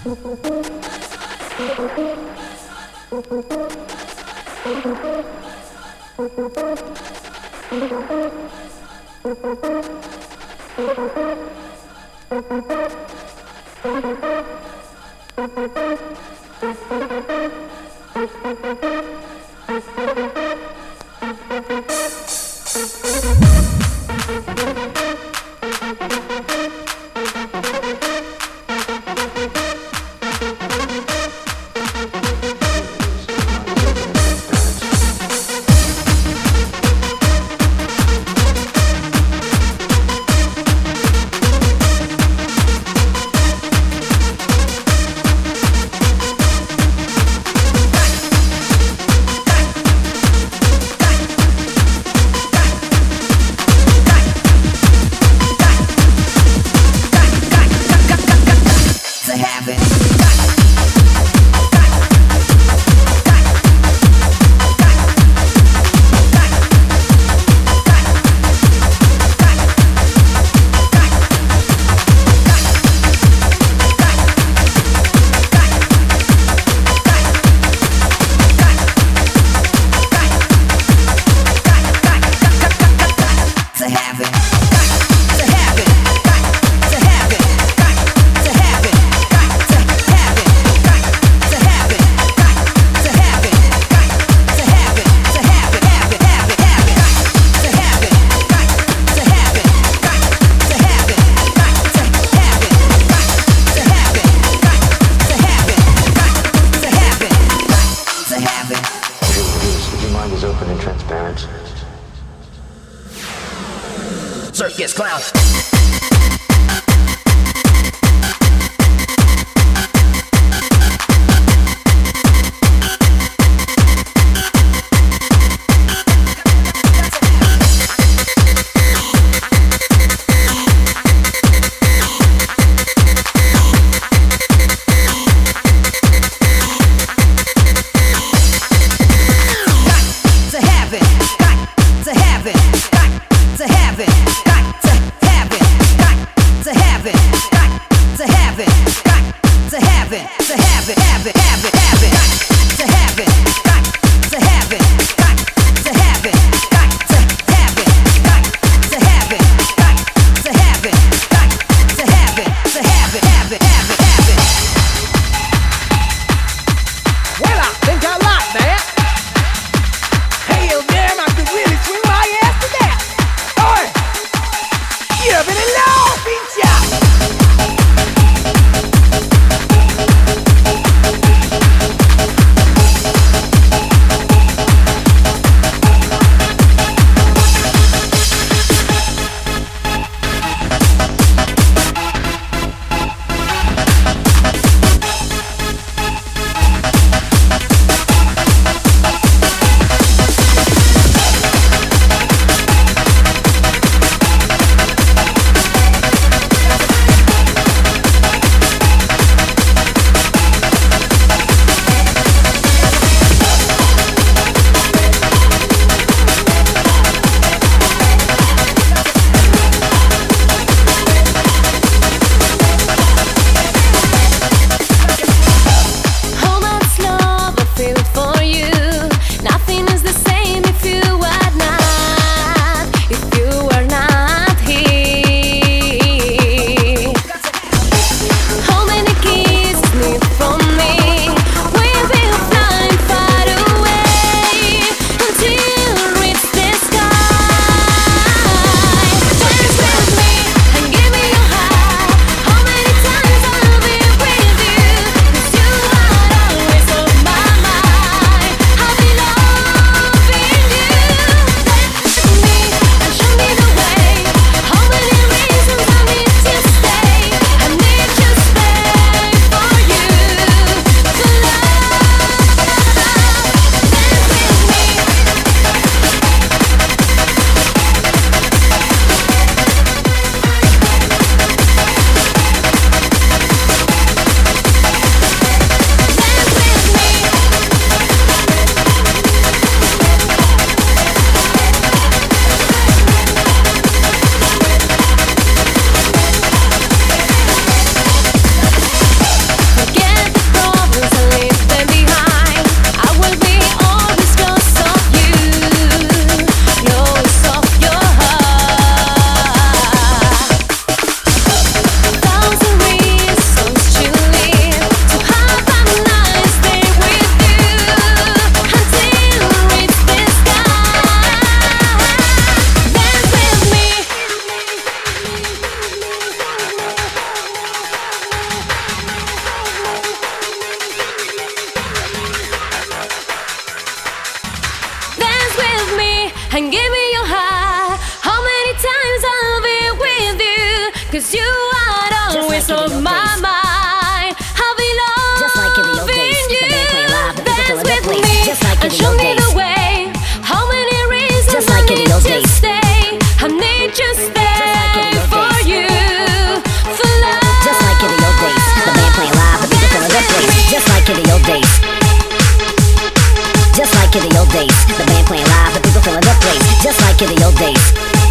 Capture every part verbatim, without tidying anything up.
Circus clown. like in the old days.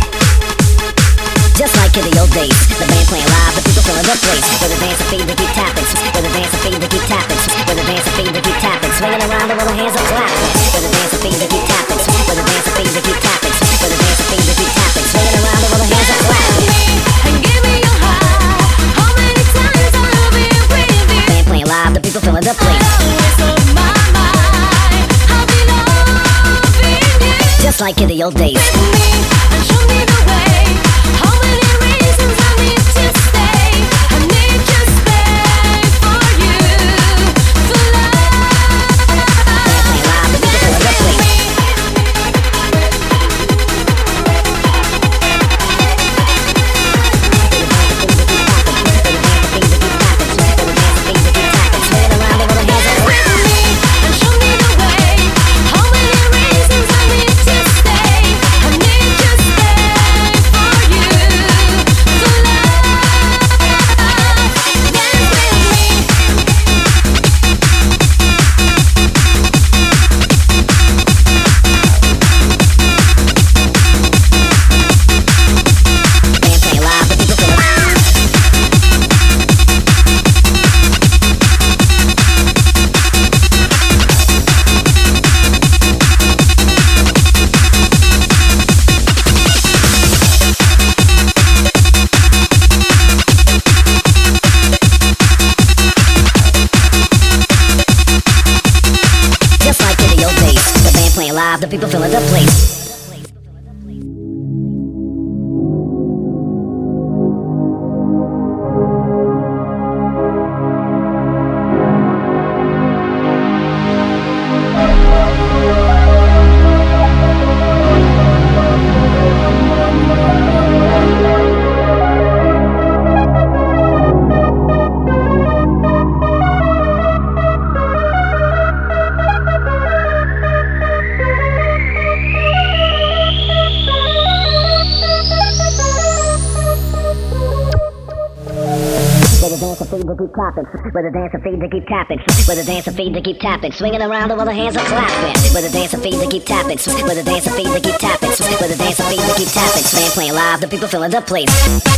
Just like in the old days, the band playing live, the people filling the place. With the dance and feed, they keep tapping. With the dance and feed, they keep tapping. With the dance and feed, they keep tapping. Swinging around with the hands up clapping. With the dance and feed, they keep tapping. With the dance and feed, they keep tapping. With the dance and feed, they keep tapping. Swinging around with the hands up clapping. And give me your heart. How many times I'll be with you? Band playing live, the people filling the place. Always on my mind. I'll be loving you. Just like in the old days. With me and show me the way. How many reasons I need to stay? I need to stay for you, for love. Playing live, the people filling the place. Swinging around with the hands up. With me and show me the way. How many reasons I need to stay? I need to stay for you, for love. Dance with me. Band playing live, the people filling the Just like in the old days, the band playing live, the people filling the place. With the dance and feed, they keep tapping. With the dance and feed, they keep tapping. Swinging around while the hands are clapping. With the dance and feed, they keep tapping. With the dance and feed, they keep tapping. With the dance and feed, they keep tapping. Band playing live, the people filling the place.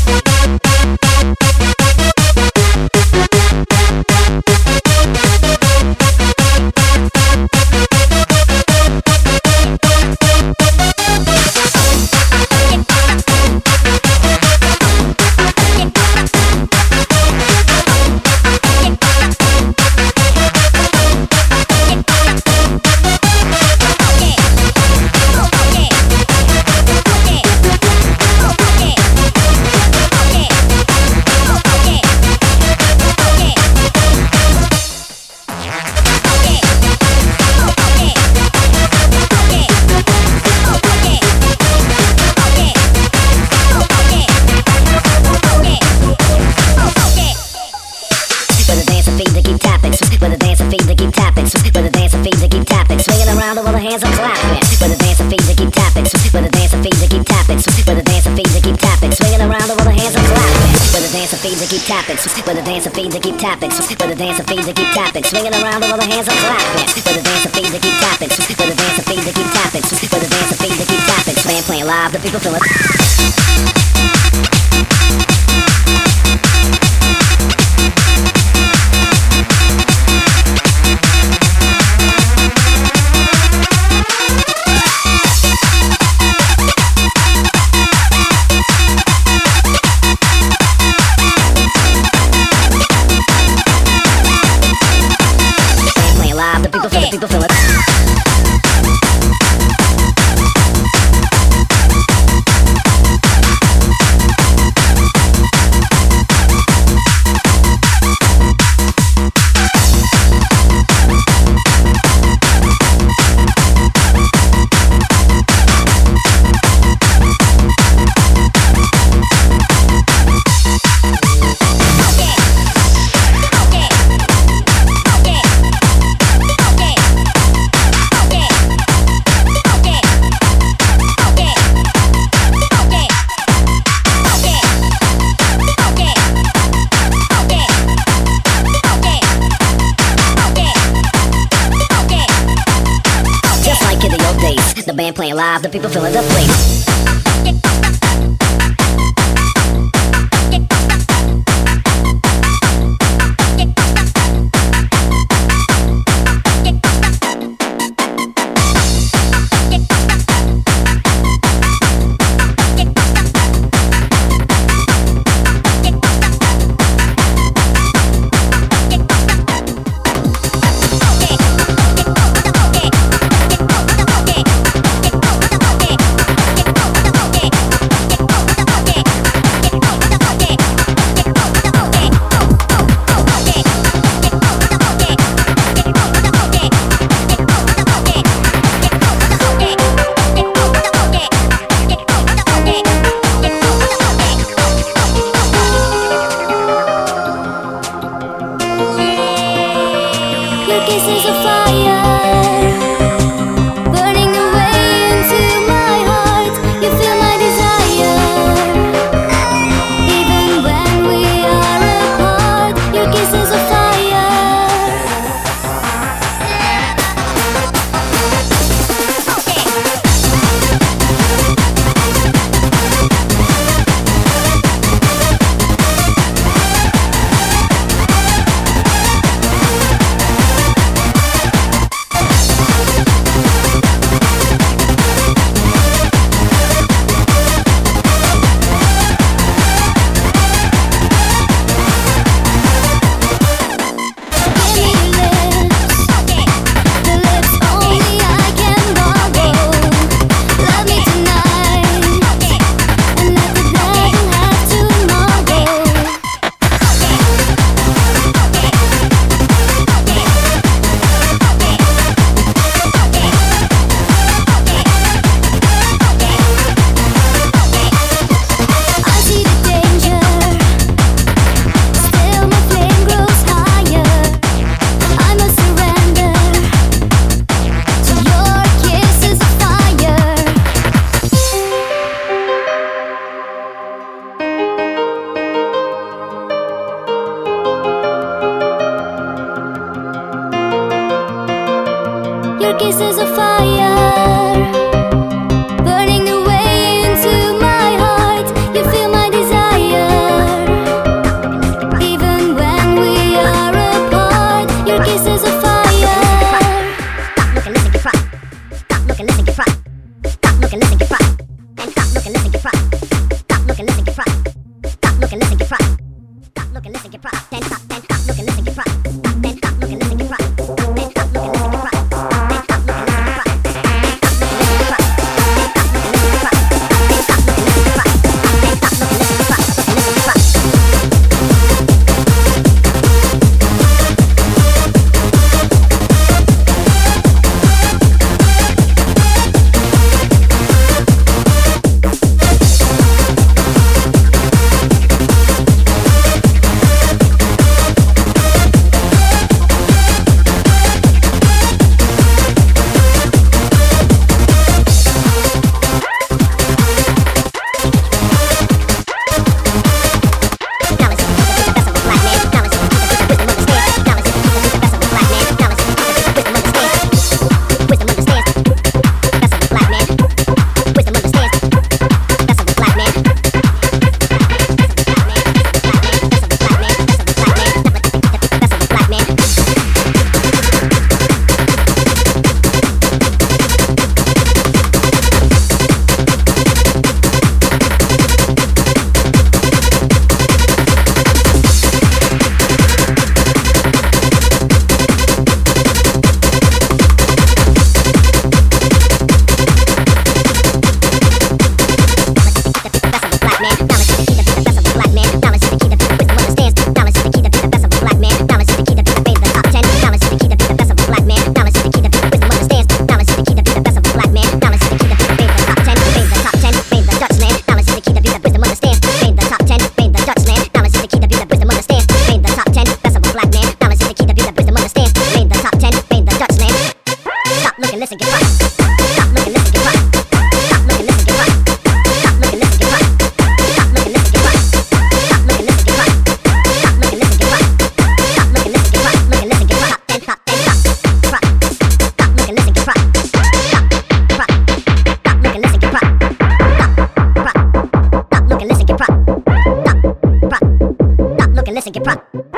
Hands are clapping. With the dance and feet, they keep tapping. With the dance and feet, they keep tapping. With the dance and feet, they keep tapping. Swinging around while the hands are clapping. With the dance and feet, they keep tapping. With the dance and feet, they keep tapping. With the dance and feet, they keep tapping. Swinging around while the hands are clapping. With the dance and feet, they keep tapping. With the dance and feet, they keep tapping. With the dance and feet, they keep tapping. Band playing live, the people feeling. People feel it. band playing live, the people filling the place. Your kiss is a fire, burning the way into my heart. You feel my desire, even when we are apart. Your kiss is a fire. Stop, look and listen, get fried. Stop, look and listen, get fried. Stop, look and listen, get fried. And stop, look and listen, get fried. Stop, look and listen, get fried. Stop, look and listen, get fried. Stop, look and listen, get fried. Then stop, then stop, look and listen, get fried. Then stop, look and listen, get fried. Then stop, look and listen, get fried.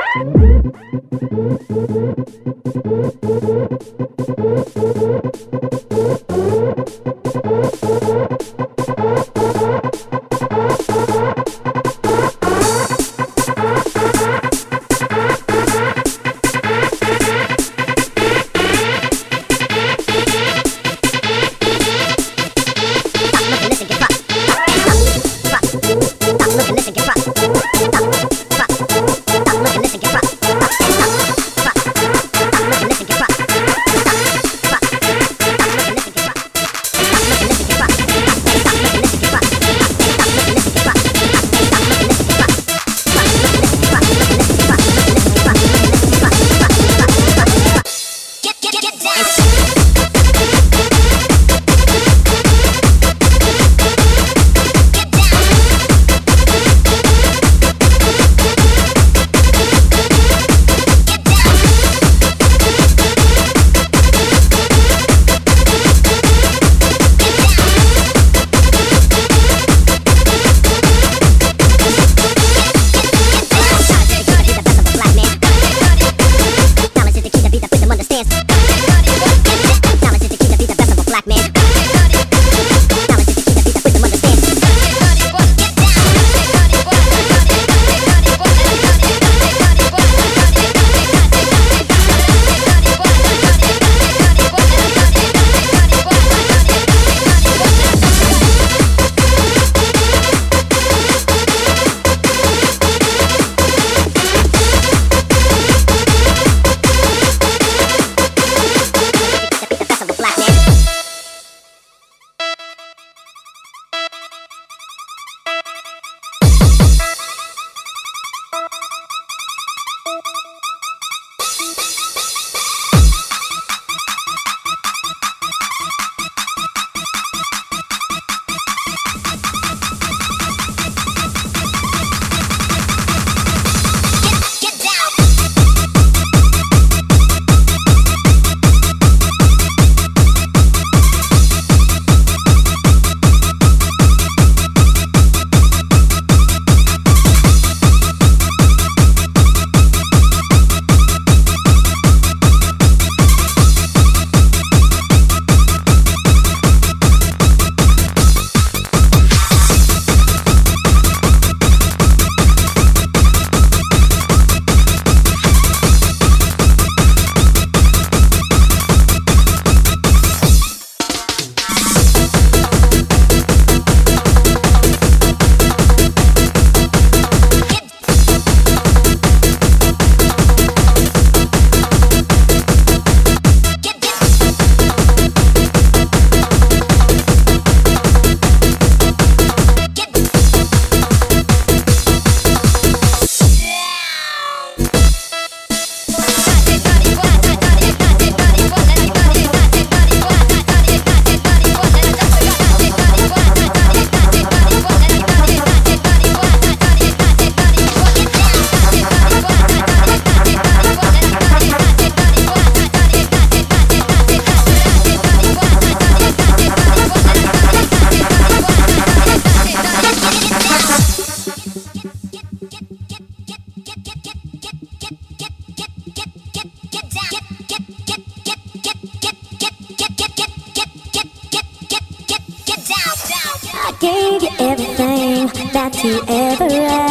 gave you everything that you ever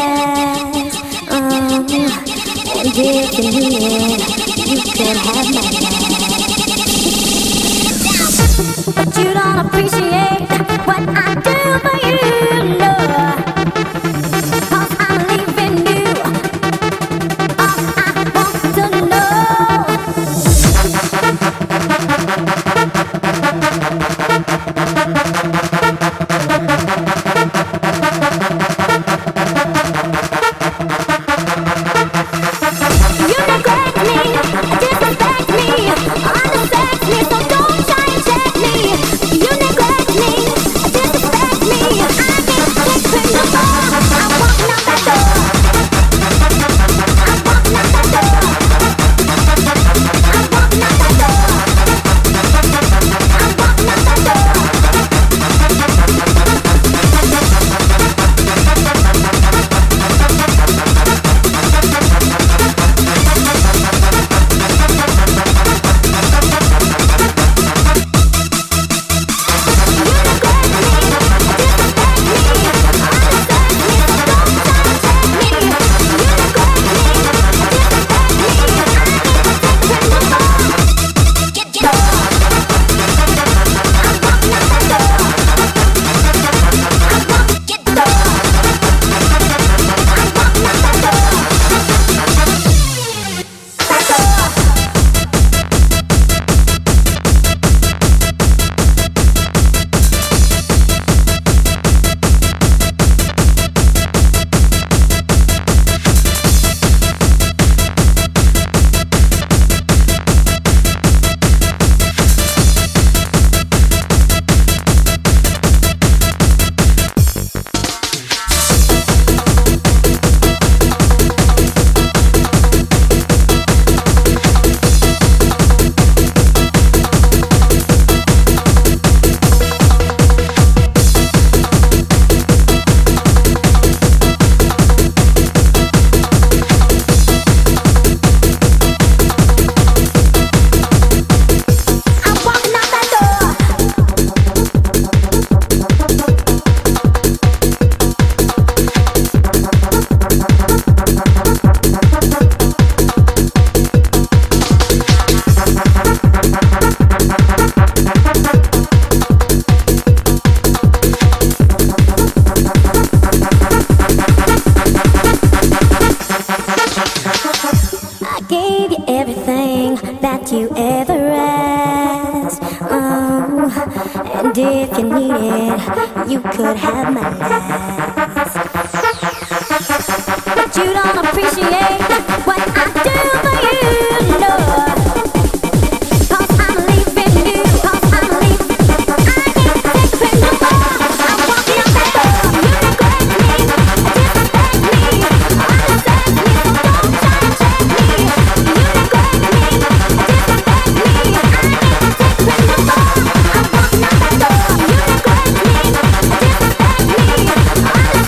asked. Um, and if you need it, you could have my life. But you don't appreciate what I do for you, no. 'Cause I'm leaving you. All I want to know. You neglect me, disrespect me, undersex me, so don't try and check me. You neglect me, disrespect me, I you ever asked. Oh, and if you need it, you could have my last. But you don't appreciate what I do for you, no. Cause I'm leaving you, cause I'm leaving. I can't take it no more. I'm walking out that door. You neglect me, disrespect me, understand me, so don't try to check me. You neglect me, disrespect me, I can't take it no more. I'm walking out that door. You neglect me, disrespect me, understand me, so don't try to check me.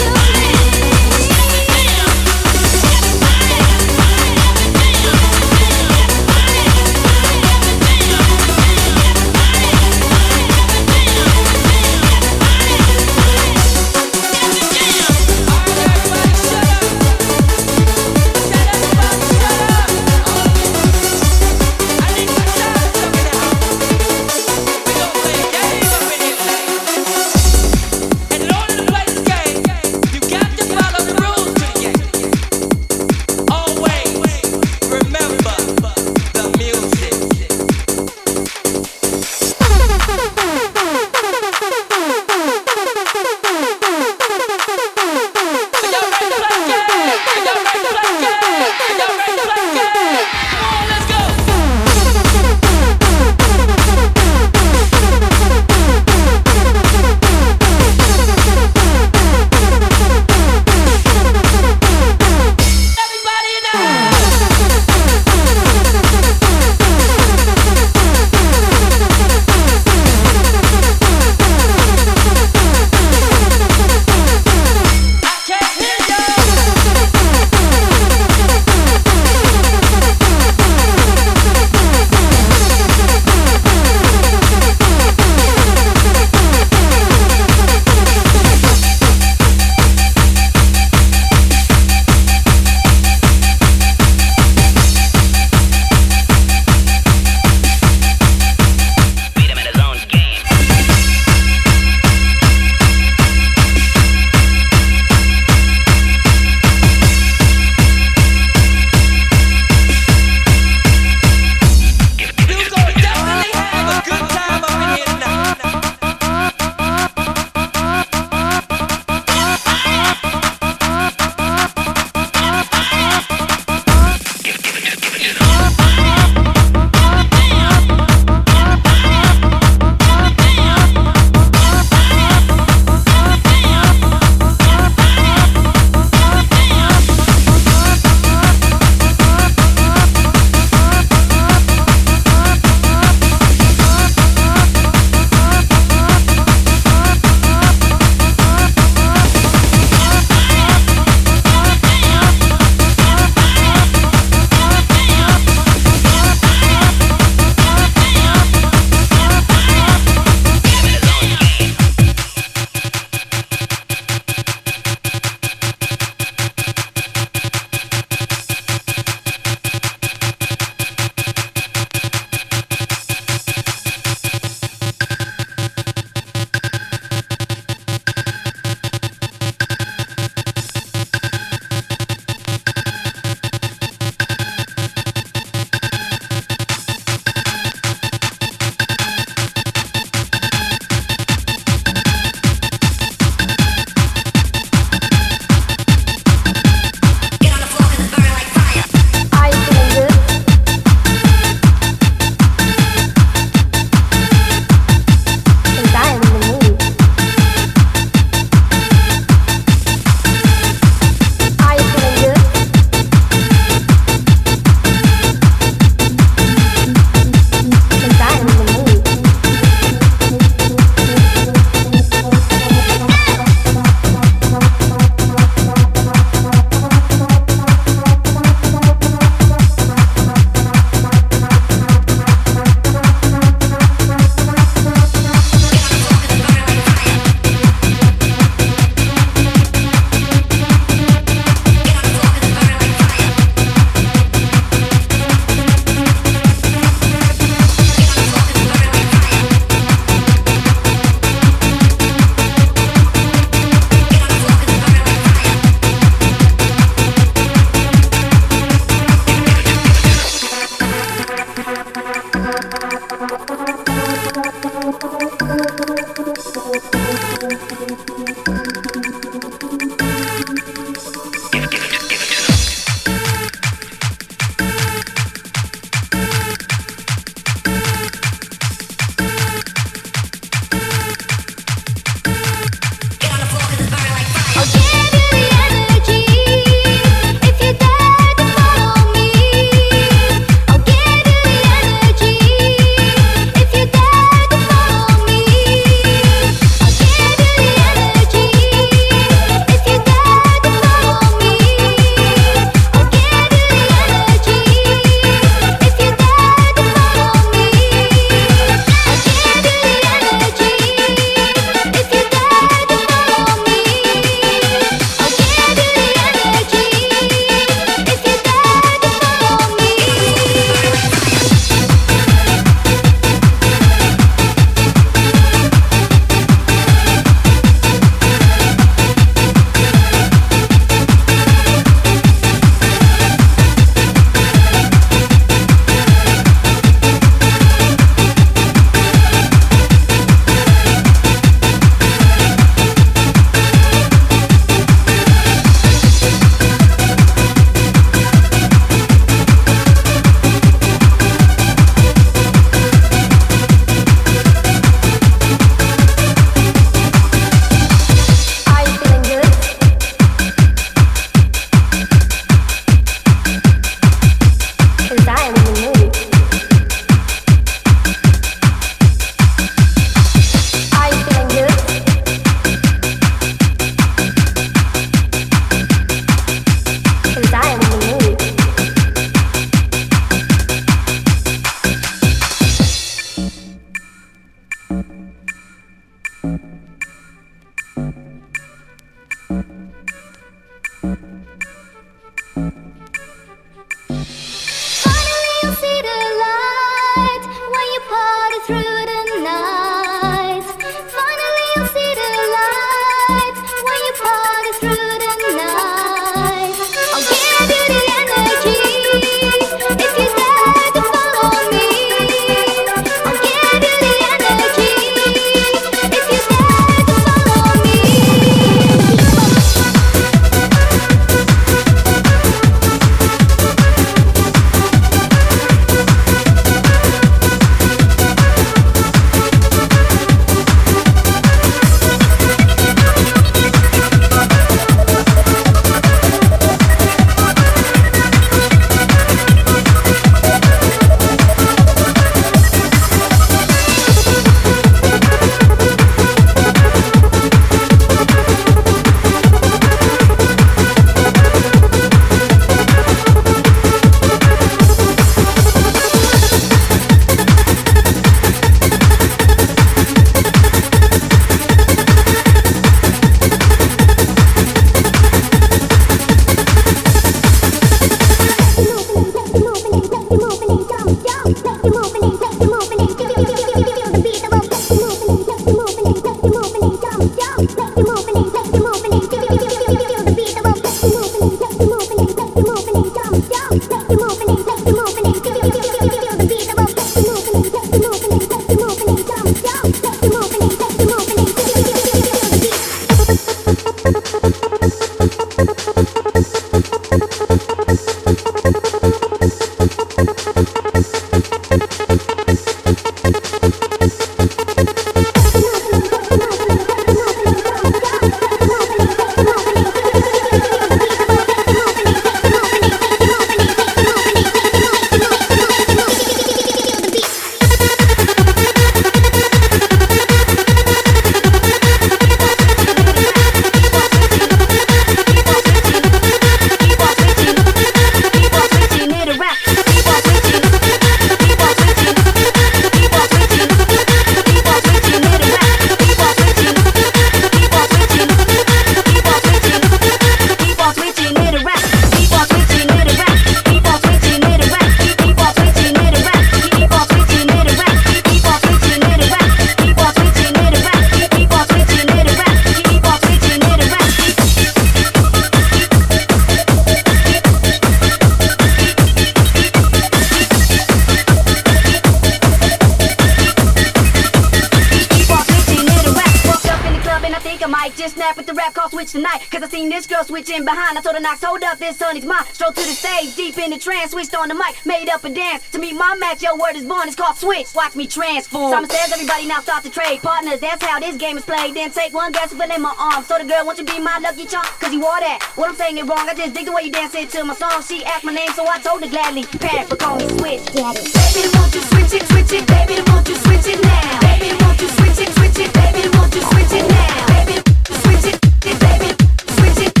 Switching behind, I told her Knox, hold up, this honey's mine. Strolled to the stage, deep in the trance, switched on the mic, made up a dance. To meet my match, your word is born, it's called switch. Watch me transform. Simon says everybody now start to trade partners, that's how this game is played. Then take one guess and put in my arm. So the girl, won't you be my lucky charm? Cause you wore that. What I'm saying it wrong, I just dig the way you dance into my song. She asked my name, so I told her gladly. Parent, but call me Switch. Daddy. Baby, won't you switch it, switch it, baby, won't you switch it now? Baby, won't you switch it, switch it, baby, won't you switch it now? Baby, switch it, baby, switch it.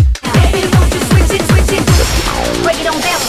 Break it on down.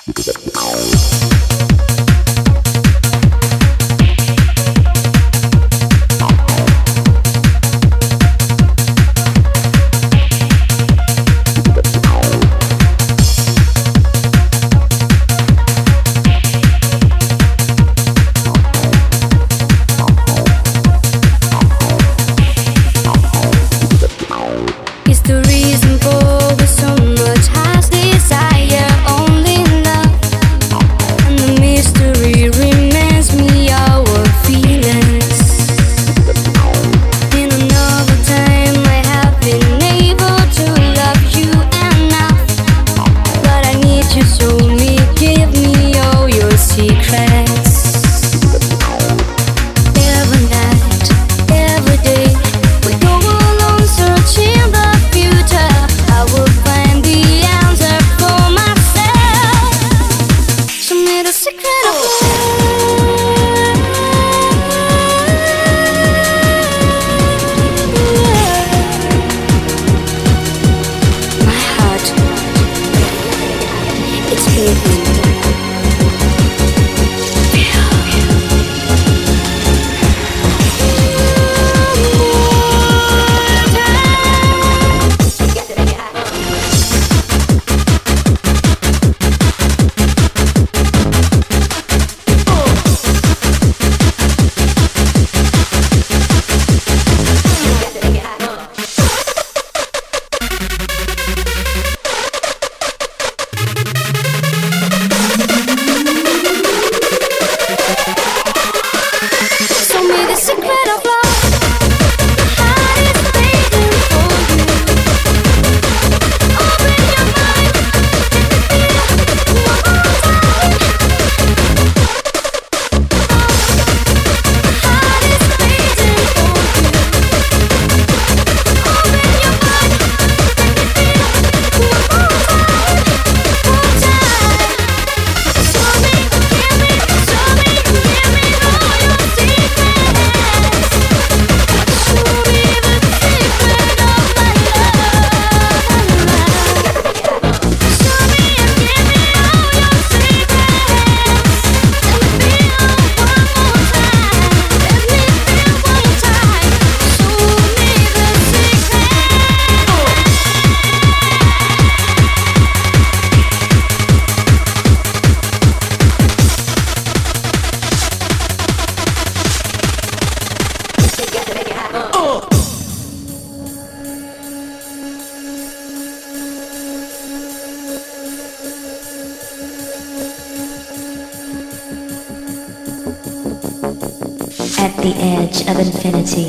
At the edge of infinity,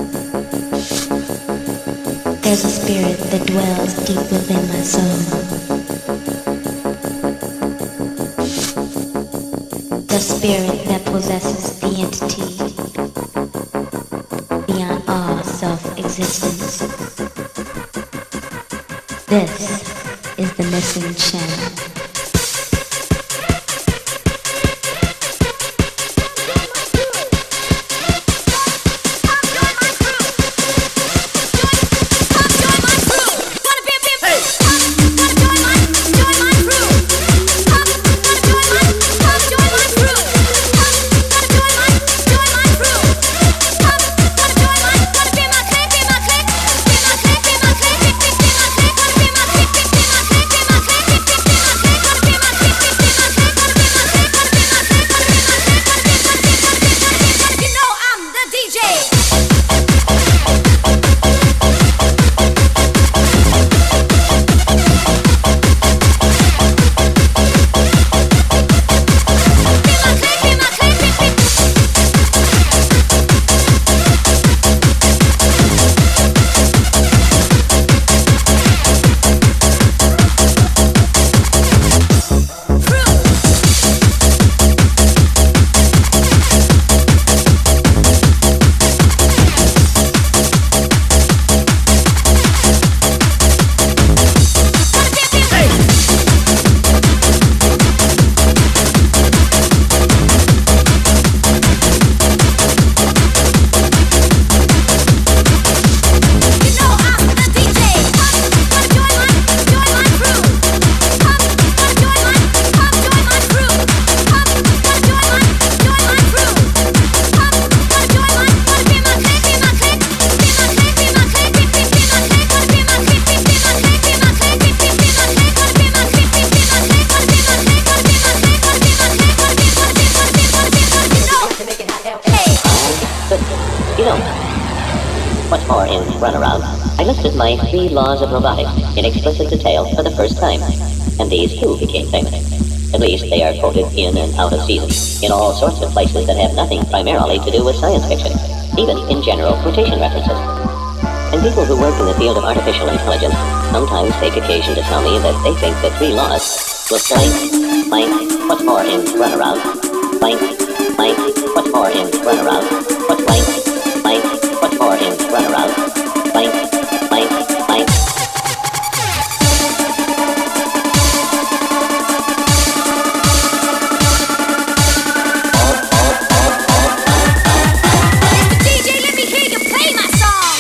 there's a spirit that dwells deep within my soul. The spirit that possesses the entity beyond all self-existence. This is the missing channel. Click, in Runaround, I listed my three laws of robotics in explicit detail for the first time, and these too became famous. At least they are quoted in and out of season, in all sorts of places that have nothing primarily to do with science fiction, even in general quotation references. And people who work in the field of artificial intelligence sometimes take occasion to tell me that they think the three laws will blank, blank, what's more in Runaround, blank, blank, what's more in Runaround, what's blank, blank, what's more in Runaround, blank, blank, blank. D J, let me hear you play my song.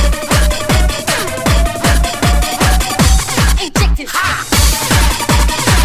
Injected.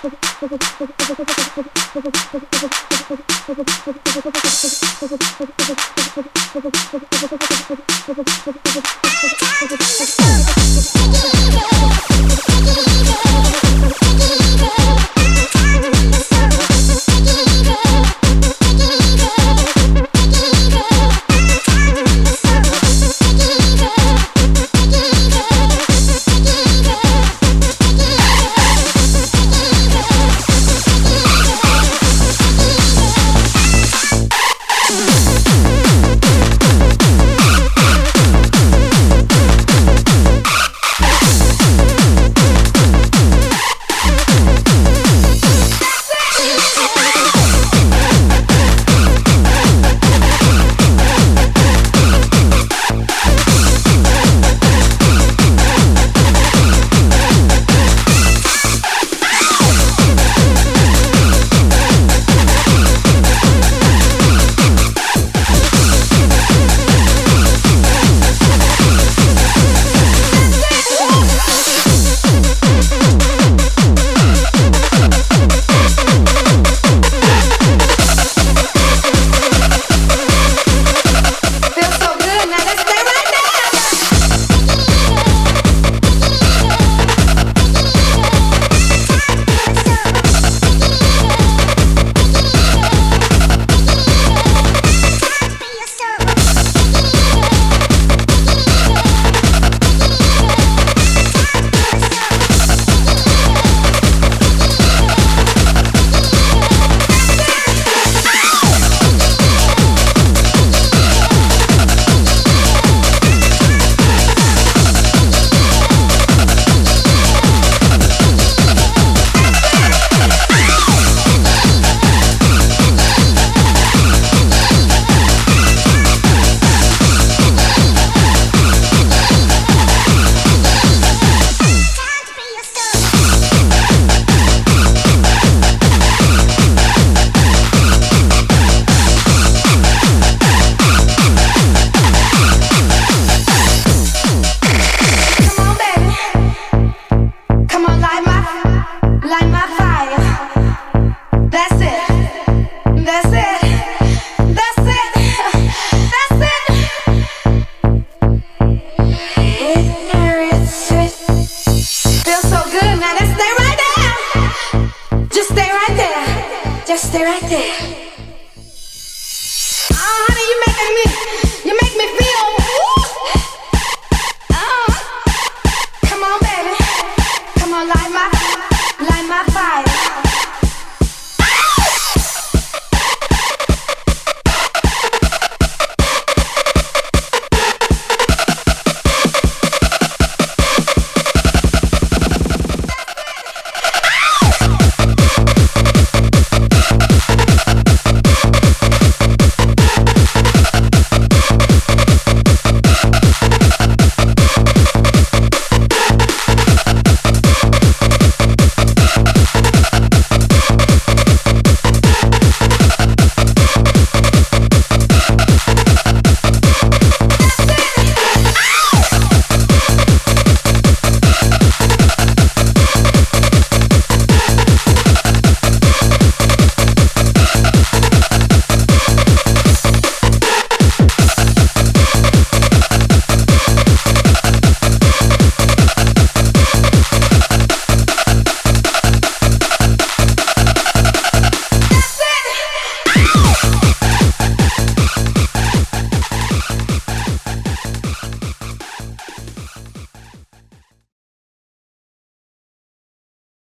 Just stay right there. Oh, honey, you making me